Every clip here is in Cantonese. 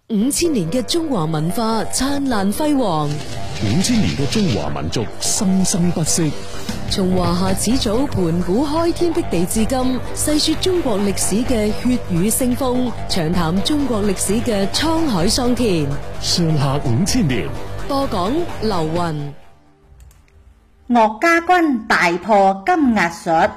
5000年嘅中華文化燦爛輝煌 ，5000年嘅中華民族生生不息。 從華夏始祖盤古開天闢地至今，細說中國歷史嘅血雨腥風，長談中國歷史嘅滄海桑田。 上下5000年， 播講劉雲。 岳家軍大破金額術。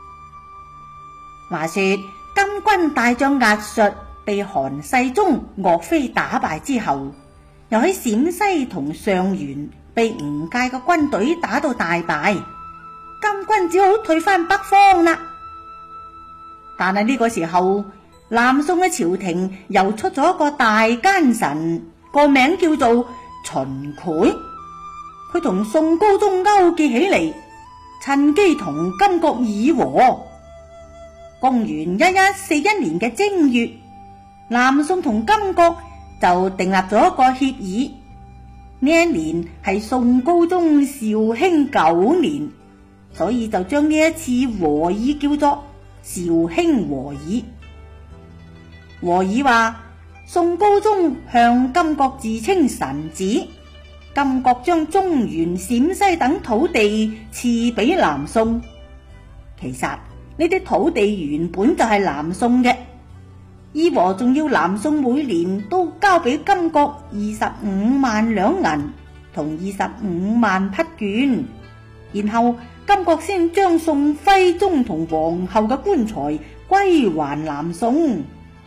話說金軍大將額術被韓世忠、岳飛打敗之後，又喺陝西同上元被吳介嘅軍隊打到大敗，金軍只好退翻北方啦。但係呢個時候，南宋嘅朝廷又出咗一個大奸臣，個名叫做秦檜。佢同宋高宗勾結起嚟，趁機同金國議和。公元1141年嘅正月，南宋同金國就訂立咗一個協議。呢一年係宋高宗紹興9年，所以就將呢一次和議叫做紹興和議。和議話，宋高宗向金國自稱臣子，金國將中原、陝西等土地賜俾南宋。其實呢啲土地原本就係南宋嘅，議和仲要南宋每年都交俾金國25萬兩銀同25萬匹絹，然後金國先將宋徽宗同皇后嘅棺材歸還南宋。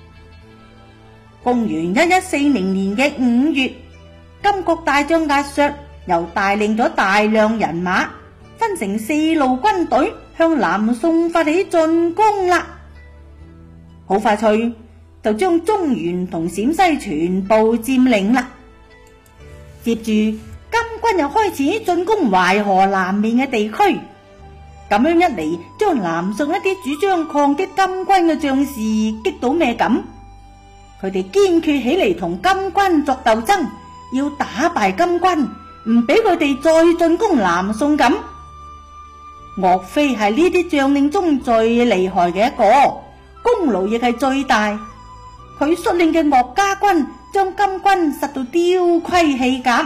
公元1140年嘅5月，金國大將額術又帶領咗大量人馬，分成4路軍隊向南宋發起進攻啦。好快脆就將中原同陝西全部佔領啦。接住金軍又開始進攻淮河南面嘅地區，咁樣一嚟，將南宋一啲主張抗擊金軍嘅將士激到咩咁？佢哋堅決起嚟同金軍作鬥爭，要打敗金軍，唔俾佢哋再進攻南宋咁。岳飛係呢啲將領中最厲害嘅一個，功勞亦係最大。佢率領嘅岳家軍將金軍殺到丟盔棄甲。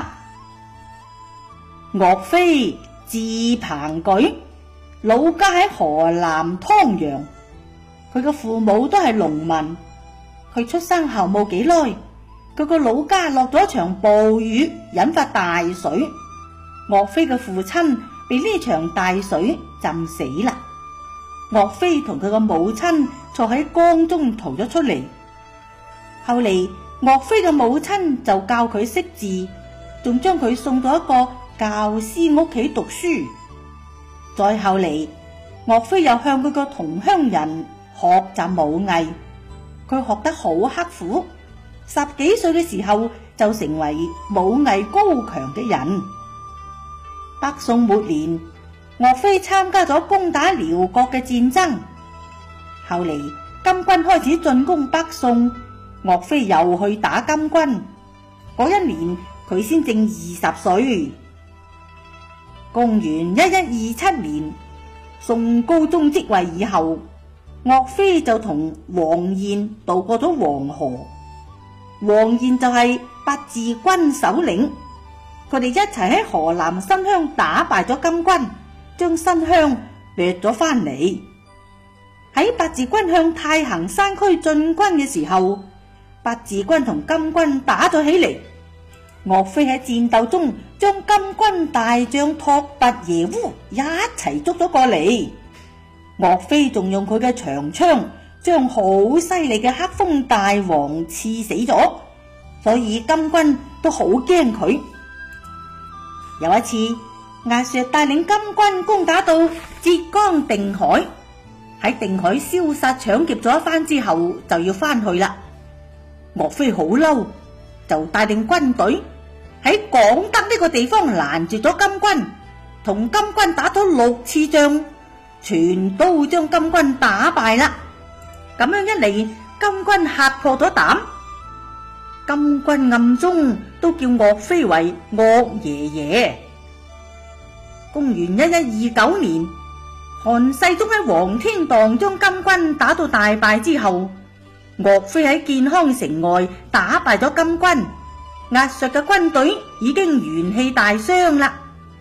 岳飛字鵬舉，老家喺河南湯陽，佢嘅父母都係農民。佢出生後冇幾耐，佢個老家落咗一場暴雨，引發大水。岳飛嘅父親被呢場大水浸死啦。岳飛同佢個母親坐喺江中逃咗出嚟。後嚟岳飛嘅母親就教佢識字，仲將佢送到一個教師屋企讀書。再後嚟，岳飛又向佢個同鄉人學習武藝，佢學得好刻苦，10幾歲嘅時候就成為武藝高強嘅人。北宋末年，岳飛參加咗攻打遼國嘅戰爭。後嚟金軍開始進攻北宋，岳飛又去打金軍。嗰一年佢先正20歲。公元1127年，宋高宗即位以後，岳飛就同王彥渡過咗黃河。王彥就係八字軍首領，佢哋一齊喺河南新鄉打敗咗金軍，將新鄉掠咗翻嚟。喺八字軍向太行山區進軍嘅時候，八字軍同金軍打咗起嚟。岳飛喺戰鬥中將金軍大將拓跋耶烏一齊捉咗過嚟。岳飛仲用佢嘅長槍將好犀利嘅黑風大王刺死咗，所以金軍都好驚佢。有一次，額術帶領金軍攻打到浙江定海，喺定海燒殺搶劫咗一番之後，就要翻去啦。岳飛好嬲，就帶領軍隊喺廣德呢個地方攔住咗金軍，同金軍打咗6次仗，全都將金軍打敗啦。咁樣一嚟，金軍嚇破咗膽，金軍暗中都叫岳飛為岳爺爺。公元1129年，韓世忠喺黃天蕩將金軍打到大敗之後， 岳飛喺建康城外打敗咗金軍，壓削嘅軍隊已經元氣大傷啦。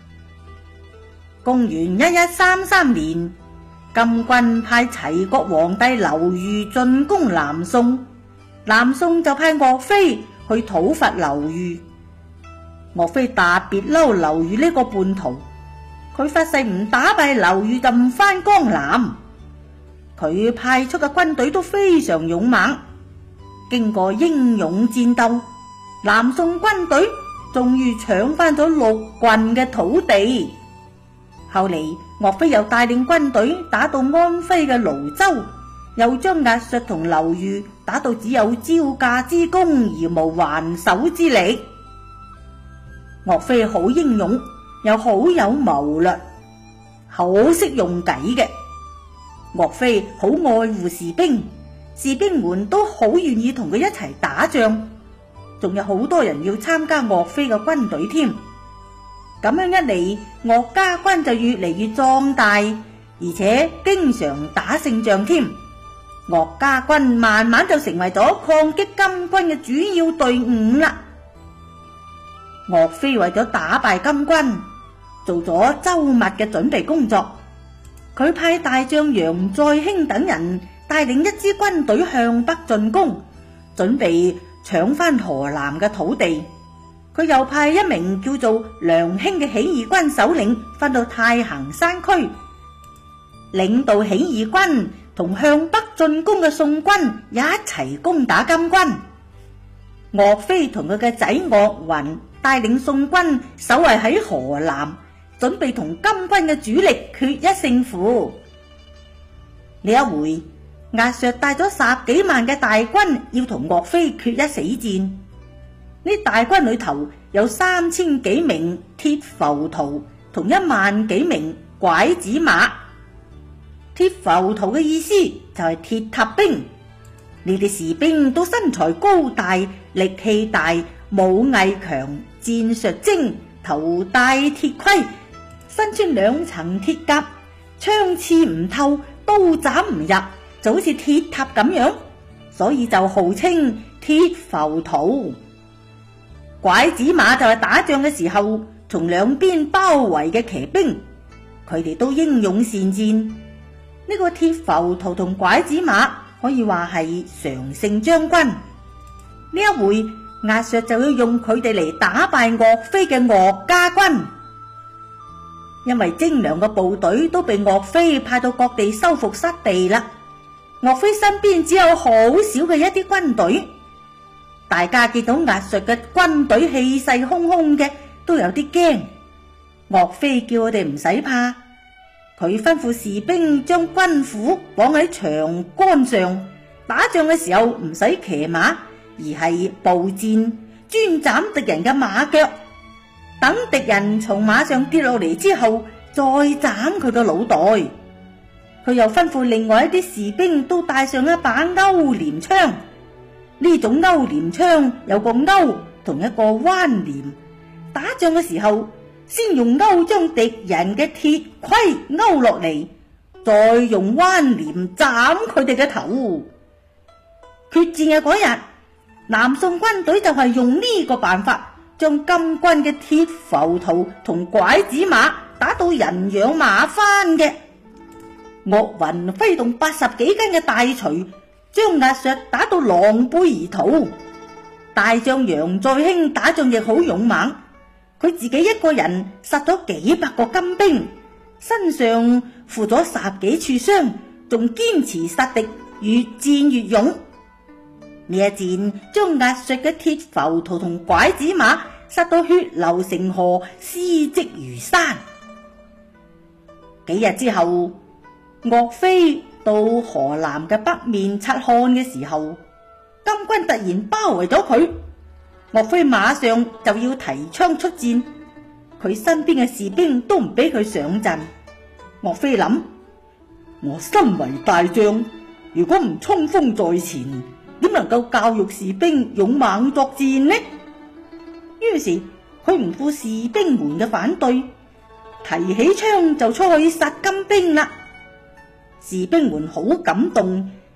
公元1133年，金軍派齊國皇帝劉豫進攻南宋，南宋就派岳飛去討伐劉豫。岳飛特別嬲劉豫呢個叛徒，佢發誓唔打敗劉豫就唔返江南。佢派出嘅軍隊都非常勇猛，經過英勇戰鬥，南宋軍隊終於搶翻咗6郡嘅土地。後嚟岳飛又帶領軍隊打到安徽嘅廬州，又將壓削同劉豫打到只有招架之功而無還手之力。岳飛好英勇，又好有謀略，好識用計嘅。岳飛好愛護士兵，士兵們都好願意同佢一齊打仗，仲有好多人要參加岳飛嘅軍隊添。咁樣一嚟，岳家軍就越嚟越壯大，而且經常打勝仗添。岳家軍慢慢就成為咗抗擊金軍嘅主要隊伍啦。岳飛為咗打敗金軍，做咗周密嘅準備工作。佢派大將楊再興等人帶領一支軍隊向北進攻，準備搶翻河南嘅土地。佢又派一名叫做梁興嘅起義軍首領翻到太行山區，領導起義軍同向北進攻嘅宋軍一齊攻打金軍。岳飛同佢嘅仔岳雲帶領宋軍守衛喺河南，準備同金軍嘅主力決一勝負。呢一回，壓削帶咗10幾萬嘅大軍要同岳飛決一死戰。呢大軍裏頭有3000幾名鐵浮屠同1萬幾名拐子馬。鐵浮屠嘅意思就係鐵塔兵，呢啲士兵都身材高大，力氣大，武藝強，戰術精，頭戴鐵盔，身穿2層鐵甲，槍刺唔透，刀斬唔入，就好似鐵塔咁樣，所以就號稱鐵浮屠。拐子馬就係打仗嘅時候從兩邊包圍嘅騎兵，佢哋都英勇善戰。呢個鐵浮屠同拐子馬可以話係常勝將軍。呢一回壓削就要用佢哋嚟打敗岳飛嘅岳家軍，因為精良嘅部隊都被岳飛派到各地收復失地啦。岳飛身邊只有好少嘅一啲軍隊，大家見到壓削嘅軍隊氣勢洶洶嘅，都有啲驚。岳飛叫我哋唔使怕，佢吩咐士兵將軍斧綁喺長杆上，打仗嘅時候唔使騎馬，而係步戰，專斬敵人嘅馬腳，等敵人從馬上跌落嚟之後，再斬佢個腦袋。佢又吩咐另外一啲士兵都帶上一把勾鐮槍，呢種勾鐮槍有個勾同一個彎鐮，打仗嘅時候先用勾將敵人嘅鐵盔勾落嚟，再用彎鐮斬佢哋嘅頭。決戰嘅嗰日，南宋軍隊就係用呢個辦法，將金軍嘅鐵浮屠同拐子馬打到人仰馬翻嘅。岳雲揮動80幾斤嘅大錘，將壓削打到狼狽而逃。大將楊再興打仗亦好勇猛，佢自己一個人殺咗幾百個金兵，身上負咗10幾處傷，仲堅持殺敵，越戰越勇。呢一戰將壓削嘅鐵浮屠同拐子馬殺到血流成河，屍積如山。幾日之後，岳飛到河南嘅北面察看嘅時候，金軍突然包圍咗佢，岳飛馬上就要提槍出戰，佢身邊嘅士兵都唔俾佢上陣。岳飛諗，我身為大將，如果唔衝鋒在前，點能夠教育士兵勇猛作戰呢？於是佢唔顧士兵們嘅反對，提起槍就出去殺金兵啦。士兵們好感動，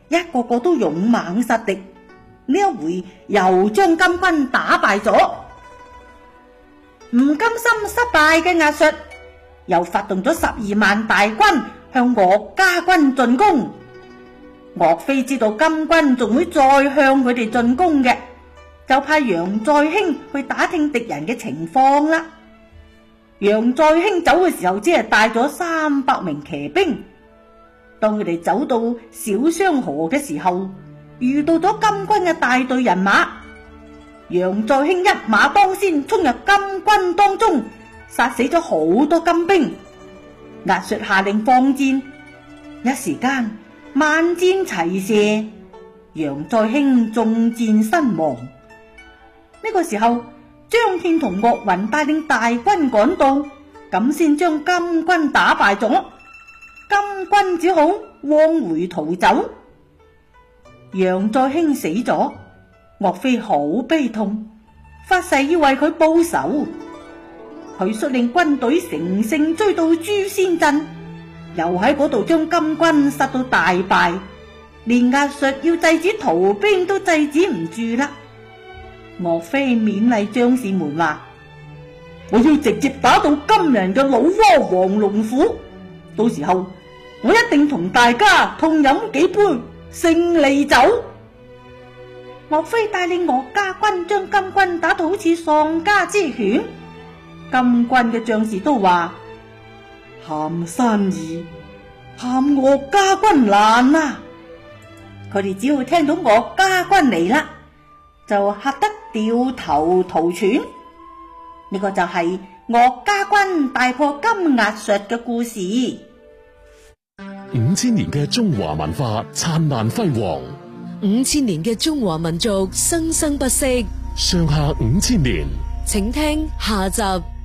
一個個都勇猛殺敵，呢一回又將金軍打敗咗。唔甘心失敗嘅亞述又發動咗12萬大軍向岳家軍進攻。岳飛知道金軍仲會再向佢哋進攻嘅，就派楊再興去打聽敵人嘅情況啦。楊再興走嘅時候只係帶咗300名騎兵。當佢哋走到小商河嘅時候，遇到咗金軍嘅大隊人馬。楊再興一馬當先衝入金軍當中，殺死咗好多金兵。亞述下令放箭，一時間萬箭齊射，楊再興中箭身亡。呢個時候，張騫同岳雲帶領大軍趕到，咁先將金軍打敗咗。金軍只好往回逃走。楊再興死咗，岳飛好悲痛，發誓要為佢報仇。佢率領軍隊乘勝追到朱仙鎮，又喺嗰度將金軍殺到大敗，連亞述要制止逃兵都制止唔住啦。岳飛勉勵將士們話：我要直接打到金人嘅老窩黃龍府，到時候我一定同大家痛飲幾杯勝利酒。岳飛帶領岳家軍將金軍打到好似喪家之犬。金軍嘅將士都話：喊山易，喊岳家軍難啊！佢哋只要聽到岳家軍嚟啦，就嚇得掉頭逃竄。呢個就係岳家軍大破金亞述嘅故事。 5000年嘅中華文化燦爛輝煌 ，5000年嘅中華民族生生不息。 上下5000年， 請聽下集。